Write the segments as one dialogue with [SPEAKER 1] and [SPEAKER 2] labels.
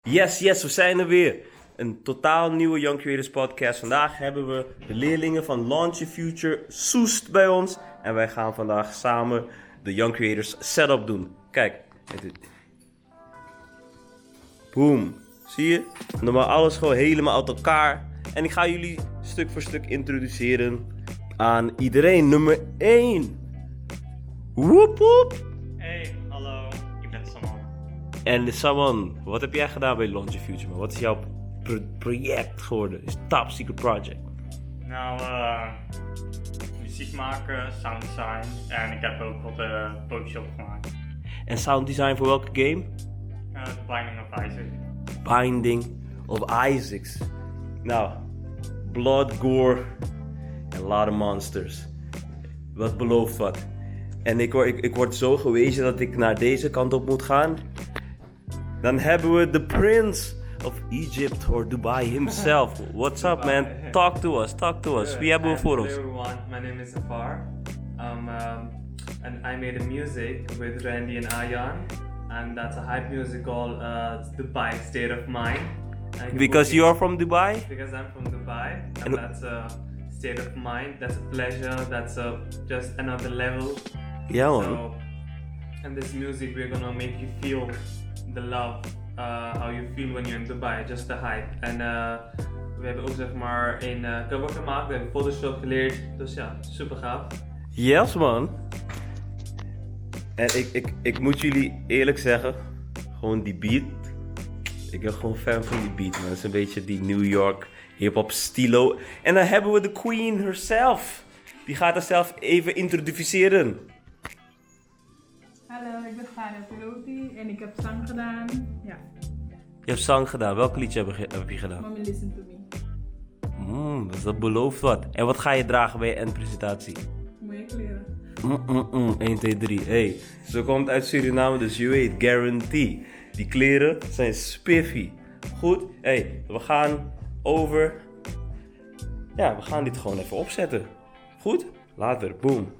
[SPEAKER 1] Yes, we zijn er weer. Een totaal nieuwe Young Creators podcast. Vandaag hebben we de leerlingen van Launch Your Future Soest bij ons. En wij gaan vandaag samen de Young Creators setup doen. Kijk. Boom. Zie je? Normaal alles gewoon helemaal uit elkaar. En ik ga jullie stuk voor stuk introduceren aan iedereen. Nummer 1. Woep woep.
[SPEAKER 2] Hey, hallo, ik ben Saman.
[SPEAKER 1] En Saman, wat heb jij gedaan bij Launch Your Future? Man? Wat is jouw project geworden? Is top secret project?
[SPEAKER 2] Nou, muziek maken, sound design en ik heb ook wat Photoshop gemaakt.
[SPEAKER 1] En sound design voor welke game?
[SPEAKER 2] The Binding of Isaac.
[SPEAKER 1] Binding of Isaacs. Nou, blood, gore en a lot of monsters. Wat belooft wat. En ik word zo gewezen dat ik naar deze kant op moet gaan. Dan hebben we de Prince of Egypt or Dubai himself. What's up, man? Talk to us. Wie hebben we voor ons?
[SPEAKER 3] Hello everyone, my name is Zafar. And I made a music with Randy and Ayan. And that's a hype music called Dubai State of Mind.
[SPEAKER 1] Because you are from Dubai?
[SPEAKER 3] Because I'm from Dubai. And that's a state of mind. That's a pleasure. That's just another level.
[SPEAKER 1] Ja, man.
[SPEAKER 3] So, in this music we're gonna make you feel the love. How you feel when you're in Dubai. Just the hype. En we hebben ook zeg maar een cover gemaakt. We hebben Photoshop geleerd. Dus ja, super gaaf.
[SPEAKER 1] Yes, man. En ik moet jullie eerlijk zeggen, gewoon die beat. Ik ben gewoon fan van die beat, man. Het is een beetje die New York hip-hop stilo. En dan hebben we de queen herself. Die gaat zichzelf even introduceren.
[SPEAKER 4] Hallo, ik ben Fadia Piloti en ik heb zang gedaan. Ja,
[SPEAKER 1] Je hebt zang gedaan. Welke liedje heb je gedaan?
[SPEAKER 4] Mommy Listen To Me.
[SPEAKER 1] Dus dat belooft wat. En wat ga je dragen bij je endpresentatie?
[SPEAKER 4] Mooie kleren.
[SPEAKER 1] 1, 2, 3. Hey, ze komt uit Suriname, dus je weet, guarantee. Die kleren zijn spiffy. Goed, hey, we gaan over. Ja, we gaan dit gewoon even opzetten. Goed? Later, boom.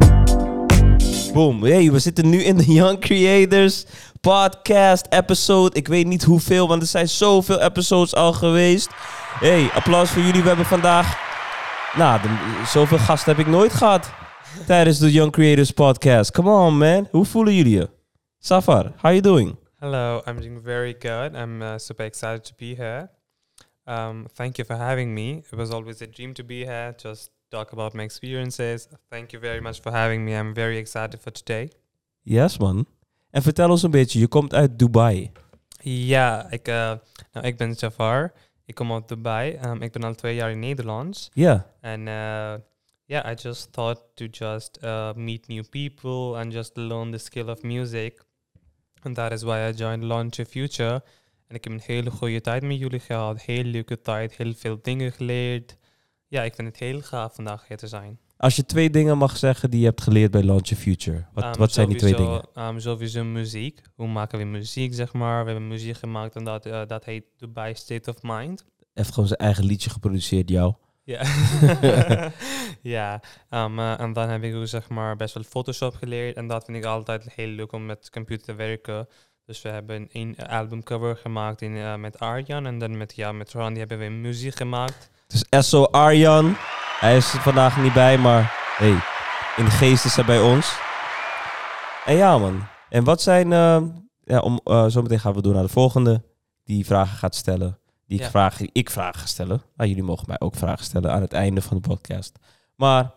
[SPEAKER 1] Boom, hey, we zitten nu in de Young Creators podcast episode. Ik weet niet hoeveel, want er zijn zoveel episodes al geweest. Hey, applaus voor jullie. We hebben vandaag... Nou, zoveel gasten heb ik nooit gehad tijdens de Young Creators podcast. Come on, man. Hoe voelen jullie je? Safar, how you doing?
[SPEAKER 5] Hello, I'm doing very good. I'm super excited to be here. Thank you for having me. It was always a dream to be here, just talk about my experiences. Thank you very much for having me. I'm very excited for today.
[SPEAKER 1] Yes, man. En vertel ons een beetje, je komt uit Dubai.
[SPEAKER 5] Ja, ik ben Jafar. Ik kom uit Dubai. Ik ben al 2 jaar in Nederland.
[SPEAKER 1] Ja.
[SPEAKER 5] En I just thought to just meet new people and just learn the skill of music. And that is why I joined Launch Your Future. En ik heb een hele goede tijd met jullie gehad. Heel leuke tijd, heel veel dingen geleerd. Ja, ik vind het heel gaaf vandaag hier te zijn.
[SPEAKER 1] Als je 2 dingen mag zeggen die je hebt geleerd bij Launch Your Future, wat zijn die 2 dingen?
[SPEAKER 5] Sowieso muziek. Hoe maken we muziek, zeg maar. We hebben muziek gemaakt en dat heet Dubai State of Mind.
[SPEAKER 1] Heeft gewoon zijn eigen liedje geproduceerd, jou.
[SPEAKER 5] Ja. Ja. En dan heb ik ook zeg maar best wel Photoshop geleerd. En dat vind ik altijd heel leuk om met computer te werken. Dus we hebben een albumcover gemaakt met Arjan. En dan met Randy hebben we muziek gemaakt.
[SPEAKER 1] Dus SO Arjan. Hij is er vandaag niet bij, maar hey, in de geest is hij bij ons. En ja, man. En wat zijn... zometeen gaan we door naar de volgende. Die vragen gaat stellen. Ik vragen ga stellen. Jullie mogen mij ook vragen stellen aan het einde van de podcast. Maar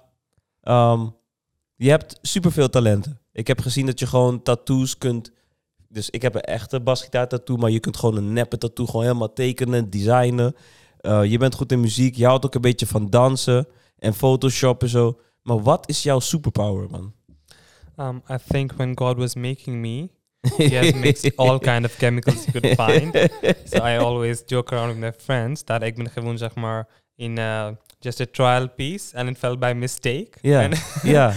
[SPEAKER 1] je hebt superveel talenten. Ik heb gezien dat je gewoon tattoos kunt... Dus ik heb een echte basgitaar tattoo, maar je kunt gewoon een neppe tattoo gewoon helemaal tekenen, designen. Je bent goed in muziek. Je houdt ook een beetje van dansen en Photoshop en zo. Maar wat is jouw superpower, man?
[SPEAKER 5] I think when God was making me, he has mixed all kind of chemicals you could find. So I always joke around with my friends that ik ben gewoon zeg maar in just a trial piece and it fell by mistake.
[SPEAKER 1] Yeah.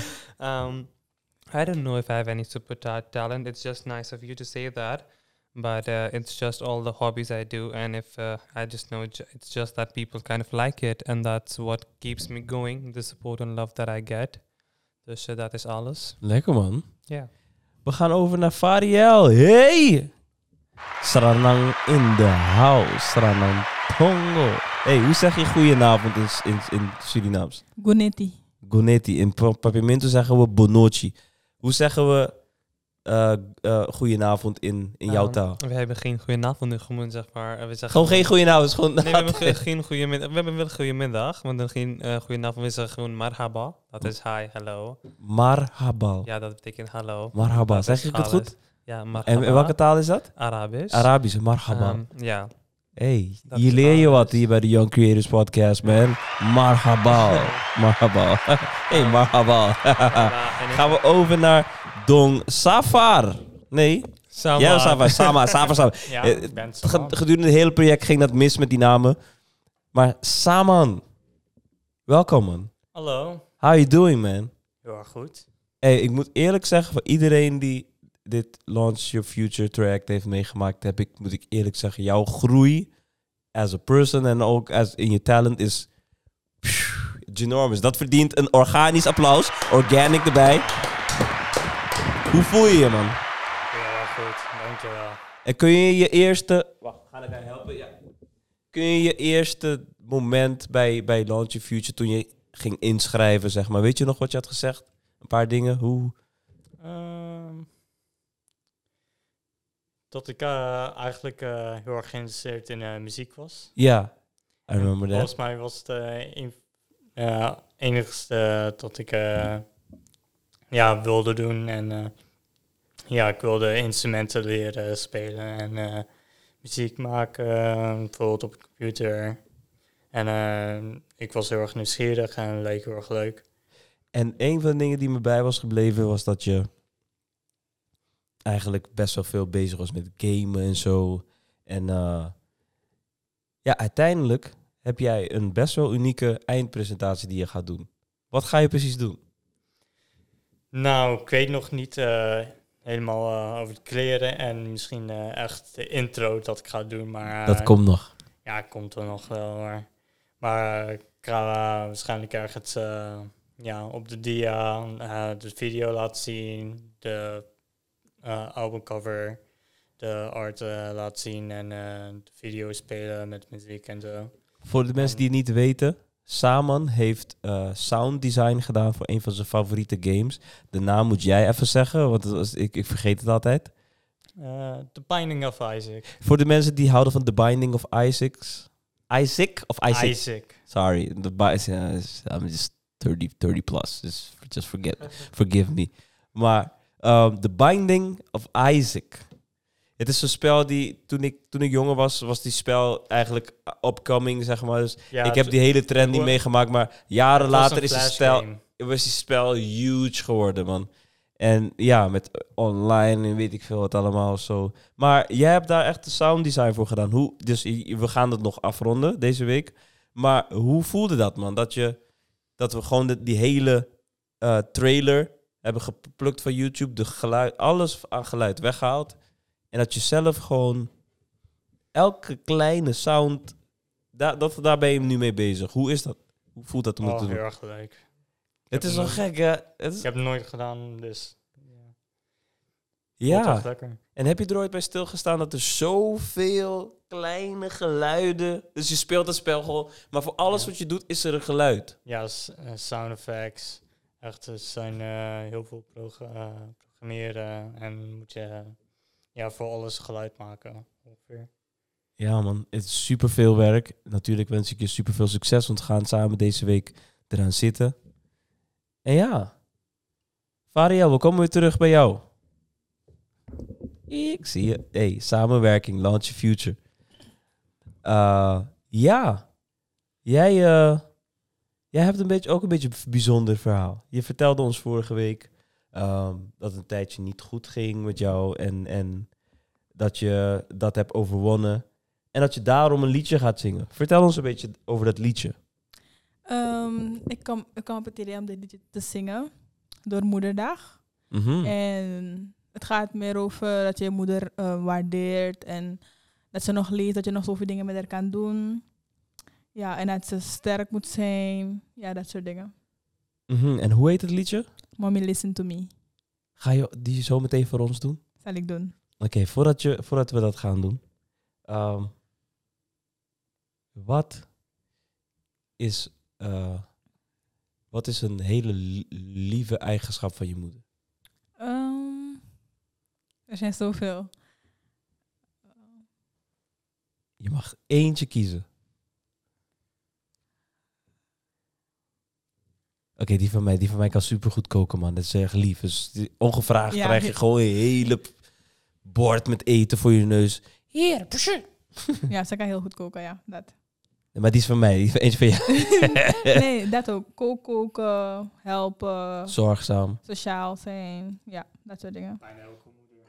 [SPEAKER 5] I don't know if I have any super talent. It's just nice of you to say that. But it's just all the hobbies I do. And if I just know it's just that people kind of like it. And that's what keeps me going. The support and love that I get. Dus dat is alles.
[SPEAKER 1] Lekker, man.
[SPEAKER 5] Ja.
[SPEAKER 1] We gaan over naar Fariel. Hey! Sranang in the house. Sranang Tongo. Hey, hoe zeg je goedenavond in Surinaams?
[SPEAKER 4] Guneti.
[SPEAKER 1] Goneti. In Papiamento zeggen we bonochi. Hoe zeggen we goedenavond in jouw taal?
[SPEAKER 5] We hebben geen goedenavond nu, gewoon zeg maar. We zeggen
[SPEAKER 1] Gewoon geen goedenavond. Gewoon
[SPEAKER 5] Nee, we hebben geen goedemiddag. We hebben wel goedemiddag, maar dan geen goedenavond. We zeggen gewoon marhaba. Dat is hi, hello.
[SPEAKER 1] Marhaba.
[SPEAKER 5] Ja, dat betekent hallo.
[SPEAKER 1] Marhaba.
[SPEAKER 5] Dat
[SPEAKER 1] Zeg
[SPEAKER 5] is
[SPEAKER 1] ik het
[SPEAKER 5] alles.
[SPEAKER 1] goed?
[SPEAKER 5] Ja, marhaba.
[SPEAKER 1] En welke taal is dat?
[SPEAKER 5] Arabisch.
[SPEAKER 1] Arabisch. Marhaba.
[SPEAKER 5] Ja.
[SPEAKER 1] Hey,
[SPEAKER 5] Dat
[SPEAKER 1] hier
[SPEAKER 5] is
[SPEAKER 1] leer je
[SPEAKER 5] Arabisch.
[SPEAKER 1] wat hier bij de Young Creators Podcast, man. Marhaba. Marhaba. Hey, marhaba. Gaan we over naar Dong Safar. Nee?
[SPEAKER 5] Sama.
[SPEAKER 1] Ja, Safar. Sama.
[SPEAKER 6] Ja,
[SPEAKER 1] Eh,
[SPEAKER 6] ik ben zo.
[SPEAKER 1] Gedurende het hele project ging dat mis met die namen. Maar Saman. Welkom, man.
[SPEAKER 6] Hallo.
[SPEAKER 1] How you doing, man?
[SPEAKER 6] Heel erg goed.
[SPEAKER 1] Hey, ik moet eerlijk zeggen, voor iedereen die dit Launch Your Future traject heeft meegemaakt, moet ik eerlijk zeggen, jouw groei as a person en ook in je talent is ginormous. Dat verdient een organisch applaus. Organic erbij. Hoe voel je je, man?
[SPEAKER 6] Heel erg goed, dankjewel.
[SPEAKER 1] En kun je je eerste... Wacht, ga ik jou helpen? Ja. Kun je je eerste moment bij Launch Your Future, toen je ging inschrijven, zeg maar, weet je nog wat je had gezegd? Een paar dingen, hoe...
[SPEAKER 6] Dat ik eigenlijk heel erg geïnteresseerd in muziek was.
[SPEAKER 1] Ja, I remember that.
[SPEAKER 6] Volgens mij was het enigste dat ik wilde doen. En ik wilde instrumenten leren spelen en muziek maken, bijvoorbeeld op de computer. En ik was heel erg nieuwsgierig en het leek heel erg leuk.
[SPEAKER 1] En een van de dingen die me bij was gebleven was dat je eigenlijk best wel veel bezig was met gamen en zo. En uiteindelijk heb jij een best wel unieke eindpresentatie die je gaat doen. Wat ga je precies doen?
[SPEAKER 6] Nou, ik weet nog niet helemaal over de kleren en misschien echt de intro dat ik ga doen. Maar
[SPEAKER 1] Dat komt nog.
[SPEAKER 6] ja, komt er nog wel. Maar ik ga waarschijnlijk ergens op de dia de video laten zien, de albumcover, de art laten zien en de video spelen met muziek en zo.
[SPEAKER 1] Voor de mensen die het niet weten, Saman heeft sound design gedaan voor een van zijn favoriete games. De naam moet jij even zeggen, want ik vergeet het altijd.
[SPEAKER 6] The Binding of Isaac.
[SPEAKER 1] Voor de mensen die houden van The Binding of Isaac. Isaac of Isaac?
[SPEAKER 6] Isaac.
[SPEAKER 1] Sorry, I'm just 30 plus. Just forgive me. Maar The Binding of Isaac. Het is een spel die, toen ik jonger was die spel eigenlijk upcoming, zeg maar. Dus
[SPEAKER 6] Ja,
[SPEAKER 1] ik heb die hele trend niet meegemaakt, maar jaren later is die spel huge geworden, man. En ja, met online en weet ik veel wat allemaal zo. Maar jij hebt daar echt de sound design voor gedaan. Dus we gaan het nog afronden deze week. Maar hoe voelde dat, man? Dat we gewoon die hele trailer hebben geplukt van YouTube, de geluid, alles aan geluid weggehaald. En dat je zelf gewoon elke kleine sound, daar ben je nu mee bezig. Hoe is dat? Hoe voelt dat om dat te doen?
[SPEAKER 6] Heel erg leuk.
[SPEAKER 1] Het is wel gek, hè?
[SPEAKER 6] Ik heb het nooit gedaan, dus
[SPEAKER 1] ja.
[SPEAKER 6] echt lekker.
[SPEAKER 1] En heb je er ooit bij stilgestaan dat er zoveel kleine geluiden... Dus je speelt het spel gewoon, maar voor alles wat je doet is er een geluid.
[SPEAKER 6] Ja, sound effects. Echt, er zijn heel veel programmeren en moet je voor alles geluid maken ongeveer.
[SPEAKER 1] Ja, man. Het is superveel werk. Natuurlijk wens ik je superveel succes, want we gaan samen deze week eraan zitten. En ja, Variel, we komen weer terug bij jou. Ik zie je. Hey, samenwerking, Launch Your Future. Ja, jij hebt ook een beetje een bijzonder verhaal. Je vertelde ons vorige week dat het een tijdje niet goed ging met jou en dat je dat hebt overwonnen en dat je daarom een liedje gaat zingen. Vertel ons een beetje over dat liedje.
[SPEAKER 4] Ik kwam op het idee om dit liedje te zingen door Moederdag.
[SPEAKER 1] Mhm.
[SPEAKER 4] En het gaat meer over dat je je moeder waardeert en dat ze nog leeft, dat je nog zoveel dingen met haar kan doen. Ja, en dat ze sterk moet zijn. Ja, dat soort dingen.
[SPEAKER 1] Mhm. En hoe heet het liedje?
[SPEAKER 4] Mommy, listen to me.
[SPEAKER 1] Ga je die zo meteen voor ons doen?
[SPEAKER 4] Zal ik doen.
[SPEAKER 1] Oké, voordat we dat gaan doen. Wat is een hele lieve eigenschap van je moeder?
[SPEAKER 4] Er zijn zoveel.
[SPEAKER 1] Je mag eentje kiezen. Oké, die van mij kan supergoed koken, man. Dat is echt lief. Dus ongevraagd krijg je gewoon een hele bord met eten voor je neus. Hier, pushen.
[SPEAKER 4] Ja, ze kan heel goed koken, ja. Dat.
[SPEAKER 1] Maar die is van mij, eentje van jou.
[SPEAKER 4] Nee, dat ook. Koken, helpen,
[SPEAKER 1] Zorgzaam.
[SPEAKER 4] sociaal zijn. Ja, dat soort dingen.
[SPEAKER 6] Bijna elke moeder.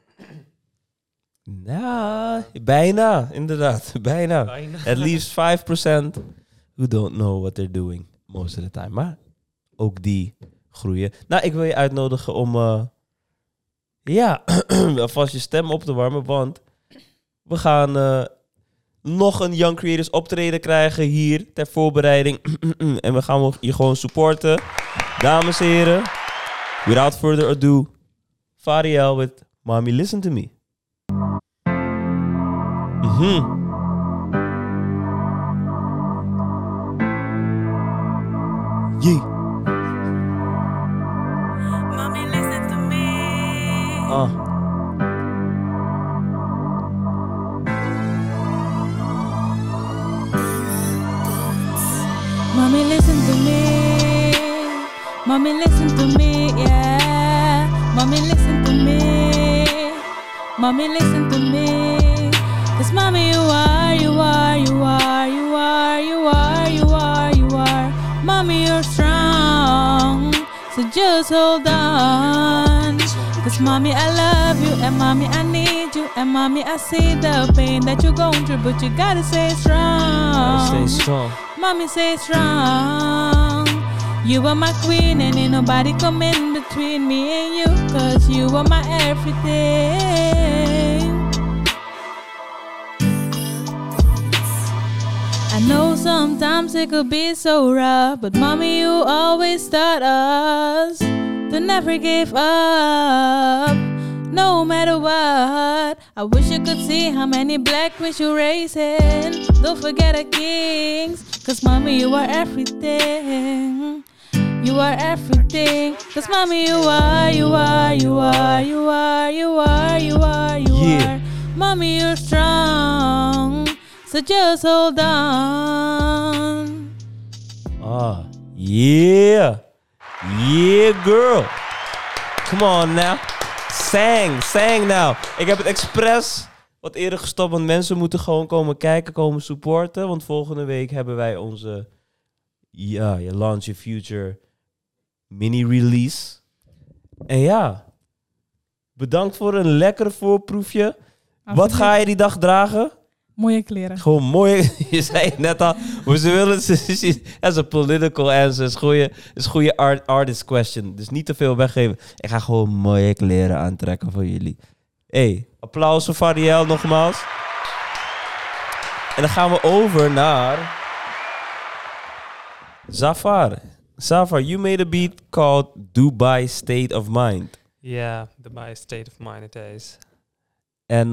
[SPEAKER 1] Nou, bijna, inderdaad. Bijna. At least 5% who don't know what they're doing most of the time. Maar ook die groeien. Nou, ik wil je uitnodigen om alvast je stem op te warmen, want we gaan nog een Young Creators optreden krijgen hier ter voorbereiding. En we gaan je gewoon supporten. Dames en heren, without further ado, Fariel with Mommy Listen to Me. Yeah.
[SPEAKER 7] Mommy, listen to me.
[SPEAKER 4] Mommy, listen to me. Mommy, listen to me, yeah. Mommy, listen to me. Mommy, listen to me. 'Cause mommy, you are. Mommy, you're strong. So just hold on. 'Cause mommy, I love you. And mommy, I need you. And mommy, I see the pain that you're going through. But you gotta stay strong.
[SPEAKER 1] Stay strong.
[SPEAKER 4] Mommy, stay strong. You are my queen and ain't nobody come in between me and you. 'Cause you are my everything. I know sometimes it could be so rough, but mommy, you always taught us to never give up, no matter what. I wish you could see how many black queens you're raising. Don't forget the kings, 'cause mommy, you are everything. You are everything. 'Cause mommy, you are. Mommy, you're strong. So just hold on.
[SPEAKER 1] Yeah. Yeah, girl. Come on now. Sang now. Ik heb het expres wat eerder gestopt, want mensen moeten gewoon komen kijken, komen supporten. Want volgende week hebben wij onze je Launch Your Future mini-release. En ja, bedankt voor een lekker voorproefje. Wat ga je die dag dragen?
[SPEAKER 4] Mooie kleren.
[SPEAKER 1] Gewoon mooi. Je zei het net al. Maar ze willen... As a political answer. Is een goede artist question. Dus niet te veel weggeven. Ik ga gewoon mooie kleren aantrekken voor jullie. Hey, applaus voor Fariel nogmaals. En dan gaan we over naar... Zafar. Zafar, you made a beat called Dubai State of Mind.
[SPEAKER 5] Yeah, Dubai State of Mind it is.
[SPEAKER 1] En...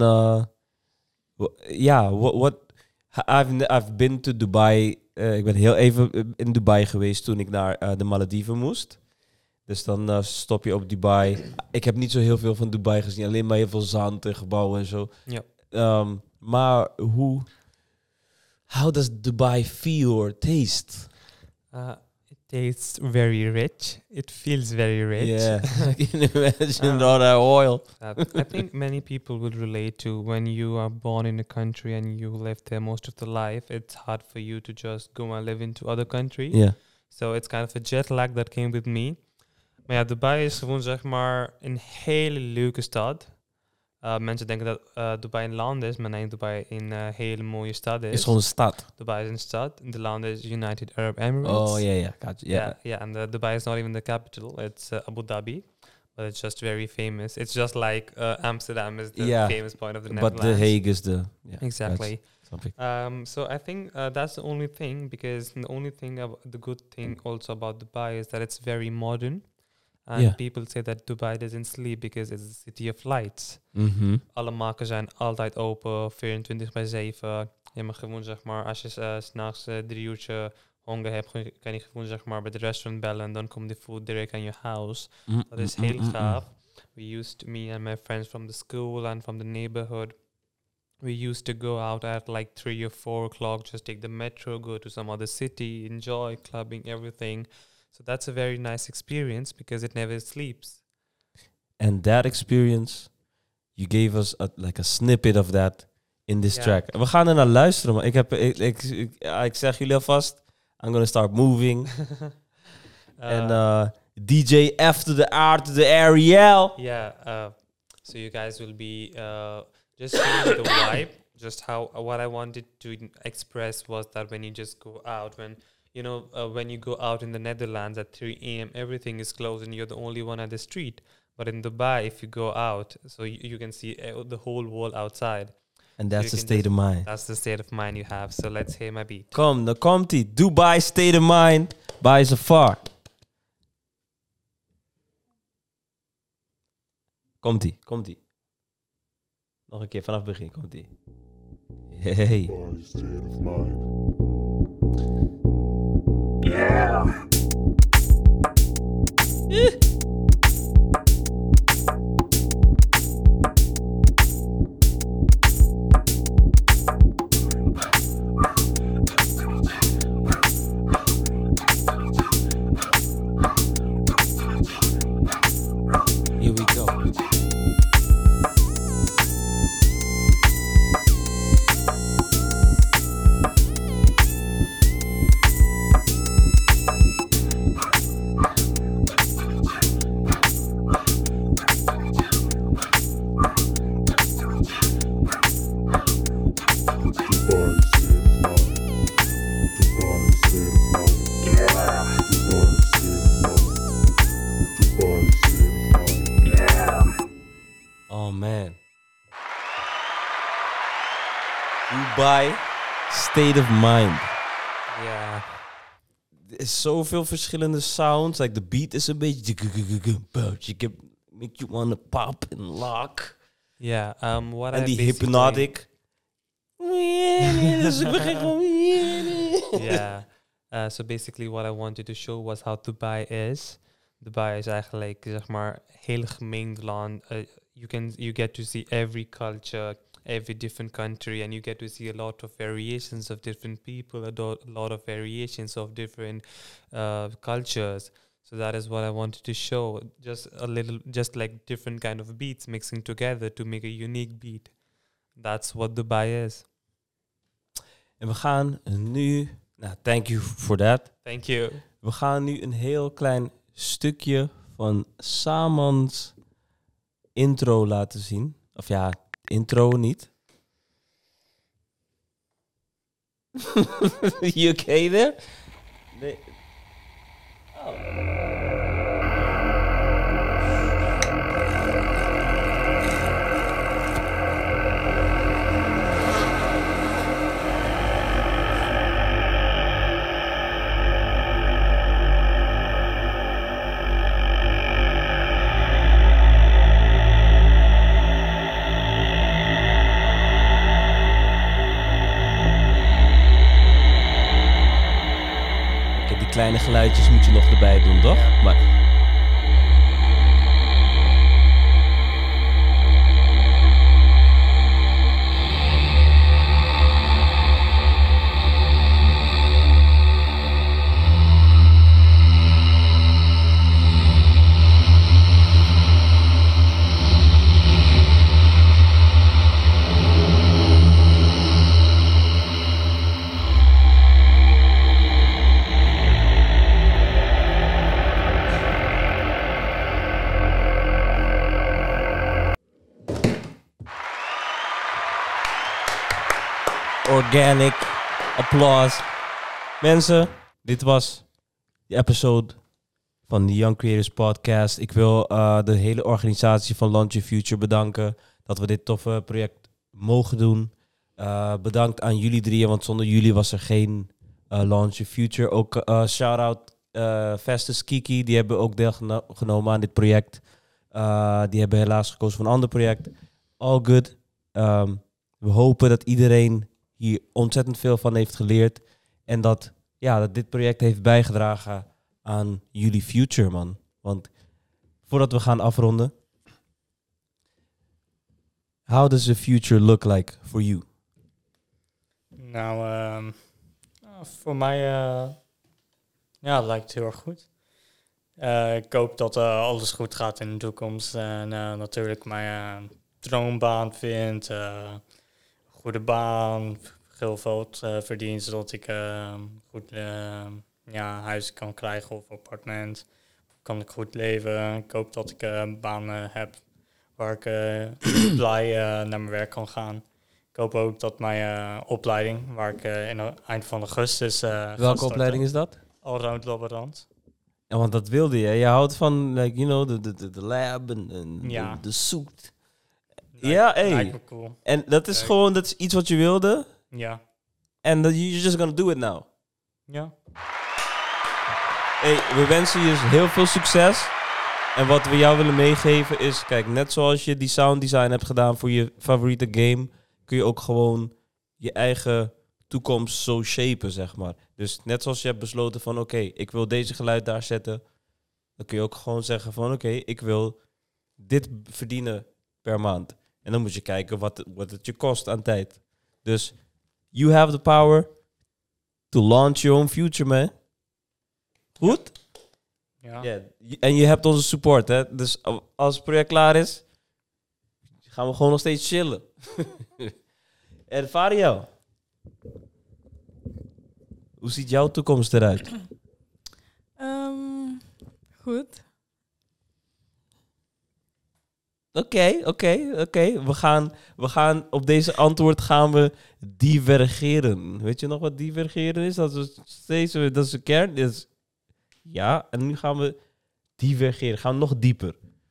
[SPEAKER 1] I've been to Dubai. Ik ben heel even in Dubai geweest toen ik naar de Malediven moest. Dus dan stop je op Dubai. Ik heb niet zo heel veel van Dubai gezien. Alleen maar heel veel zand en gebouwen en zo.
[SPEAKER 5] Ja.
[SPEAKER 1] Maar how does Dubai feel or taste?
[SPEAKER 5] It tastes very rich. It feels very rich.
[SPEAKER 1] Yeah, I can imagine all that oil.
[SPEAKER 5] I think many people will relate to when you are born in a country and you live there most of the life. It's hard for you to just go and live into other country.
[SPEAKER 1] Yeah.
[SPEAKER 5] So it's kind of a jet lag that came with me. Maar ja, Dubai is gewoon zeg maar een hele leuke stad. Mensen denken dat Dubai een land is, maar nee, Dubai een hele mooie stad is.
[SPEAKER 1] Het is gewoon een stad.
[SPEAKER 5] Dubai is een stad. De land is United Arab Emirates.
[SPEAKER 1] Oh, yeah. Gotcha. Yeah.
[SPEAKER 5] Yeah, and Dubai is not even the capital. It's Abu Dhabi, but it's just very famous. It's just like Amsterdam is the famous point of the Netherlands.
[SPEAKER 1] But The Hague is the... Yeah,
[SPEAKER 5] exactly.
[SPEAKER 1] Something.
[SPEAKER 5] So I think that's the only thing, because the only thing, the good thing also about Dubai is that it's very modern. And
[SPEAKER 1] Yeah.
[SPEAKER 5] people say that Dubai doesn't sleep because it's a city of lights.
[SPEAKER 1] Mhm.
[SPEAKER 5] Alle markten zijn altijd open, 24/7. Je mag gewoon, zeg maar, als je 's s'nachts 3 uurtje honger hebt, kan je gewoon, zeg maar, bij de restaurant bellen en dan komt de food direct aan je house. Dat is heel gaaf. Me and my friends from the school and from the neighborhood, we used to go out at like 3 or 4 o'clock, just take the metro, go to some other city, enjoy clubbing, everything. So that's a very nice experience because it never sleeps.
[SPEAKER 1] And that experience, you gave us like a snippet of that in this
[SPEAKER 5] Ja.
[SPEAKER 1] track. We gaan er naar luisteren, maar ik zeg jullie alvast, I'm gonna start moving. And DJ F to the R to the Ariel.
[SPEAKER 5] So you guys will be just feeling the vibe. Just what I wanted to express was that when you just go out, when you go out in the Netherlands at 3 a.m., everything is closed and you're the only one at the street. But in Dubai, if you go out, so you can see the whole world outside.
[SPEAKER 1] And that's
[SPEAKER 5] You
[SPEAKER 1] the
[SPEAKER 5] can
[SPEAKER 1] state of mind.
[SPEAKER 5] That's the state of mind you have. So let's hear my beat.
[SPEAKER 1] Kom, dan komt ie. Dubai State of Mind by Zafar. Komt-ie. Nog een keer, vanaf het begin komt-ie. Hey. Here we go. Oh man. Dubai State of Mind.
[SPEAKER 5] Yeah.
[SPEAKER 1] Er is zoveel verschillende sounds. Like the beat is een beetje... Make you wanna pop and lock.
[SPEAKER 5] Yeah. What
[SPEAKER 1] En
[SPEAKER 5] I
[SPEAKER 1] die
[SPEAKER 5] basically-
[SPEAKER 1] hypnotic. Dus ik begin gewoon...
[SPEAKER 5] Yeah. So basically what I wanted to show was how Dubai is. Dubai is eigenlijk, zeg maar, heel gemengd land. You get to see every culture, every different country, and you get to see a lot of variations of different people, a lot of variations of different cultures. So that is what I wanted to show. Just like different kind of beats mixing together to make a unique beat. That's what Dubai is.
[SPEAKER 1] En we gaan nu... Nou, thank you for that.
[SPEAKER 5] Thank you.
[SPEAKER 1] We gaan nu een heel klein stukje van Samans intro laten zien. Of ja, intro niet. You okay there? Nee. Die kleine geluidjes moet je nog erbij doen, toch? Maar... Organic applause. Mensen, dit was de episode van de Young Creators Podcast. Ik wil de hele organisatie van Launch Your Future bedanken dat we dit toffe project mogen doen. Bedankt aan jullie drieën, want zonder jullie was er geen Launch Your Future. Ook shout-out Festus, Kiki, die hebben ook deelgenomen aan dit project. Die hebben helaas gekozen voor een ander project. All good. We hopen dat iedereen hier ontzettend veel van heeft geleerd. En dat dit project heeft bijgedragen aan jullie future, man. Want voordat we gaan afronden. How does the future look like for you?
[SPEAKER 6] Nou, voor mij lijkt het heel erg goed. Ik hoop dat alles goed gaat in de toekomst. En natuurlijk mijn droombaan vind. Goede baan. Heel veel verdien, zodat ik goed huis kan krijgen of appartement. Kan ik goed leven. Ik hoop dat ik een baan heb waar ik blij naar mijn werk kan gaan. Ik hoop ook dat mijn opleiding, waar ik in het eind van augustus
[SPEAKER 1] Welke opleiding is dat?
[SPEAKER 6] Allround laborant.
[SPEAKER 1] Ja, want dat wilde je. Je houdt van, de lab en de suit. Ja, hey.
[SPEAKER 6] Lijkt me cool.
[SPEAKER 1] En dat is gewoon, dat is iets wat je wilde.
[SPEAKER 6] Ja.
[SPEAKER 1] En you're just gonna do it now.
[SPEAKER 6] Ja.
[SPEAKER 1] Hey, we wensen je heel veel succes. En wat we jou willen meegeven is, kijk, net zoals je die sound design hebt gedaan voor je favoriete game, kun je ook gewoon je eigen toekomst zo shapen, zeg maar. Dus net zoals je hebt besloten van, oké, ik wil deze geluid daar zetten, dan kun je ook gewoon zeggen van, oké, ik wil dit verdienen per maand. En dan moet je kijken wat het je kost aan tijd. Dus you have the power to launch your own future, man. Goed?
[SPEAKER 6] Ja.
[SPEAKER 1] Yeah. En je hebt onze support, hè. Dus als het project klaar is, gaan we gewoon nog steeds chillen. En Fariel, hoe ziet jouw toekomst eruit?
[SPEAKER 4] Goed.
[SPEAKER 1] Oké. We gaan op deze antwoord gaan we divergeren. Weet je nog wat divergeren is? Dat is een kern. Ja, en nu gaan we divergeren. Gaan we nog dieper.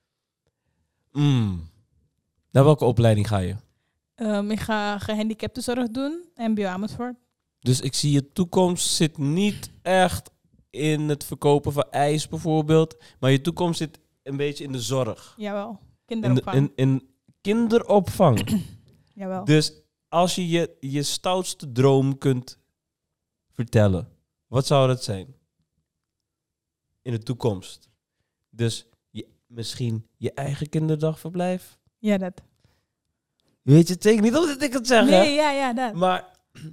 [SPEAKER 1] Naar welke opleiding ga je?
[SPEAKER 4] Ik ga gehandicaptenzorg doen. MBO Amersfoort.
[SPEAKER 1] Dus ik zie je toekomst zit niet echt in het verkopen van ijs bijvoorbeeld. Maar je toekomst zit een beetje in de zorg.
[SPEAKER 4] Jawel. Kinderopvang.
[SPEAKER 1] In kinderopvang.
[SPEAKER 4] Jawel.
[SPEAKER 1] Dus als je je stoutste droom kunt vertellen, wat zou dat zijn? In de toekomst. Dus misschien je eigen kinderdagverblijf?
[SPEAKER 4] Ja, dat.
[SPEAKER 1] Weet je het zeker niet omdat ik het zeg, hè?
[SPEAKER 4] Nee, ja, dat.
[SPEAKER 1] Maar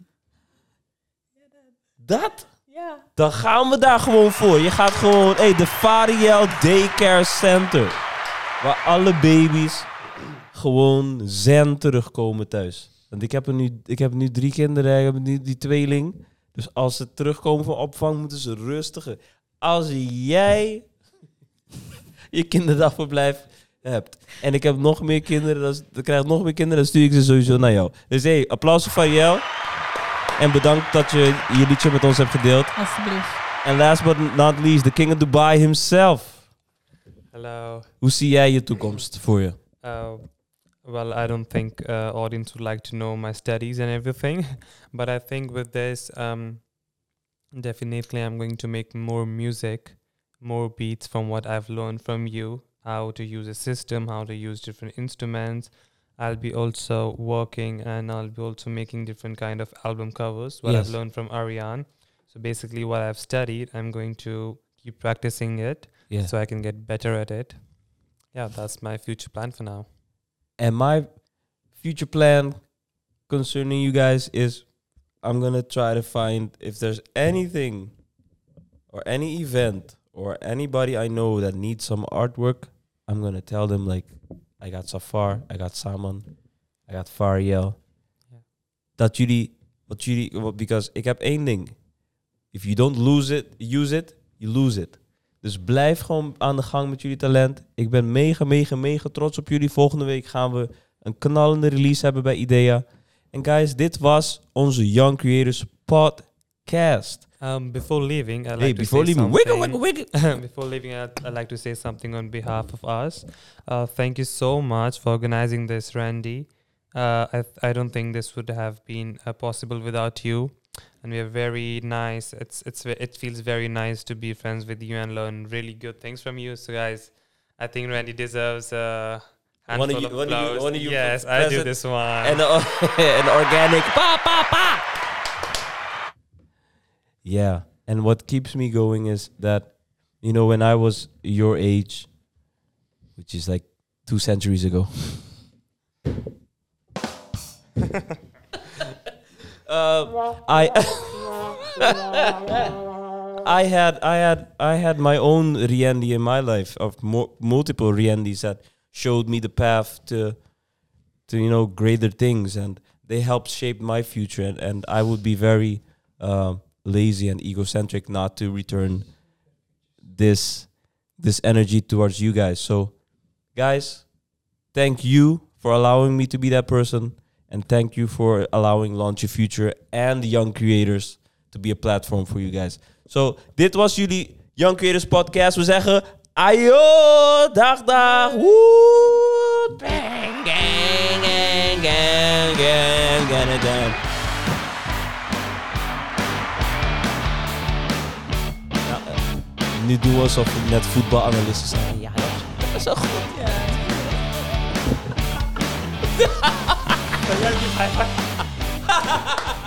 [SPEAKER 1] dat?
[SPEAKER 4] Ja.
[SPEAKER 1] Dan gaan we daar gewoon voor. Je gaat gewoon, de Fariel Daycare Center. Waar alle baby's gewoon zen terugkomen thuis. Want ik heb nu 3 kinderen, ik heb nu die tweeling. Dus als ze terugkomen van opvang, moeten ze rustiger. Als jij je kinderdagverblijf hebt en ik heb nog meer kinderen, dan krijg ik nog meer kinderen, dan stuur ik ze sowieso naar jou. Dus applaus voor Fariel. En bedankt dat je je liedje met ons hebt gedeeld.
[SPEAKER 4] Alsjeblieft.
[SPEAKER 1] En last but not least, the king of Dubai himself.
[SPEAKER 5] Hello.
[SPEAKER 1] Hoe zie jij je toekomst voor je?
[SPEAKER 5] Well, I don't think audience would like to know my studies and everything, but I think with this, definitely I'm going to make more music, more beats from what I've learned from you, how to use a system, how to use different instruments. I'll be also working and I'll be also making different kind of album covers, what
[SPEAKER 1] Yes.
[SPEAKER 5] I've learned from Ariane. So basically what I've studied, I'm going to keep practicing it
[SPEAKER 1] Yeah.
[SPEAKER 5] so I can get better at it. Yeah, that's my future plan for now.
[SPEAKER 1] And my future plan concerning you guys is I'm going to try to find if there's anything or any event or anybody I know that needs some artwork, I'm going to tell them like, I got Safar, I got Saman, I got Fariel.
[SPEAKER 5] Yeah.
[SPEAKER 1] Dat jullie, because ik heb één ding. If you don't use it, you lose it. Dus blijf gewoon aan de gang met jullie talent. Ik ben mega trots op jullie. Volgende week gaan we een knallende release hebben bij Idea. En guys, dit was onze Young Creators Podcast.
[SPEAKER 5] Before leaving, I'd
[SPEAKER 1] Hey,
[SPEAKER 5] like to
[SPEAKER 1] before
[SPEAKER 5] say
[SPEAKER 1] leaving,
[SPEAKER 5] something.
[SPEAKER 1] wiggle.
[SPEAKER 5] Before leaving, I'd like to say something on behalf of us. Thank you so much for organizing this, Randy. I don't think this would have been possible without you. and we are very nice. It feels very nice to be friends with you and learn really good things from you. So guys, I think Randy deserves a handful of applause.
[SPEAKER 1] one of you
[SPEAKER 5] yes, I do
[SPEAKER 1] present
[SPEAKER 5] this one.
[SPEAKER 1] and an organic pa pa pa. Yeah, and what keeps me going is that, you know, when I was your age, which is like 2 centuries ago. I had my own Riendi in my life, of multiple Riendis that showed me the path to you know, greater things, and they helped shape my future, and I would be very lazy and egocentric not to return this energy towards you guys. So guys, thank you for allowing me to be that person. And thank you for allowing Launch Your Future and Young Creators to be a platform for you guys. So, dit was jullie Young Creators podcast. We zeggen, ayo, dag, dag. Woe, bang, gang, gang, gang, gang, gang, gang. Nou, nu doen we alsof we net voetbalanalisten zijn. Ja, dat is zo goed, ja.
[SPEAKER 2] Ja, die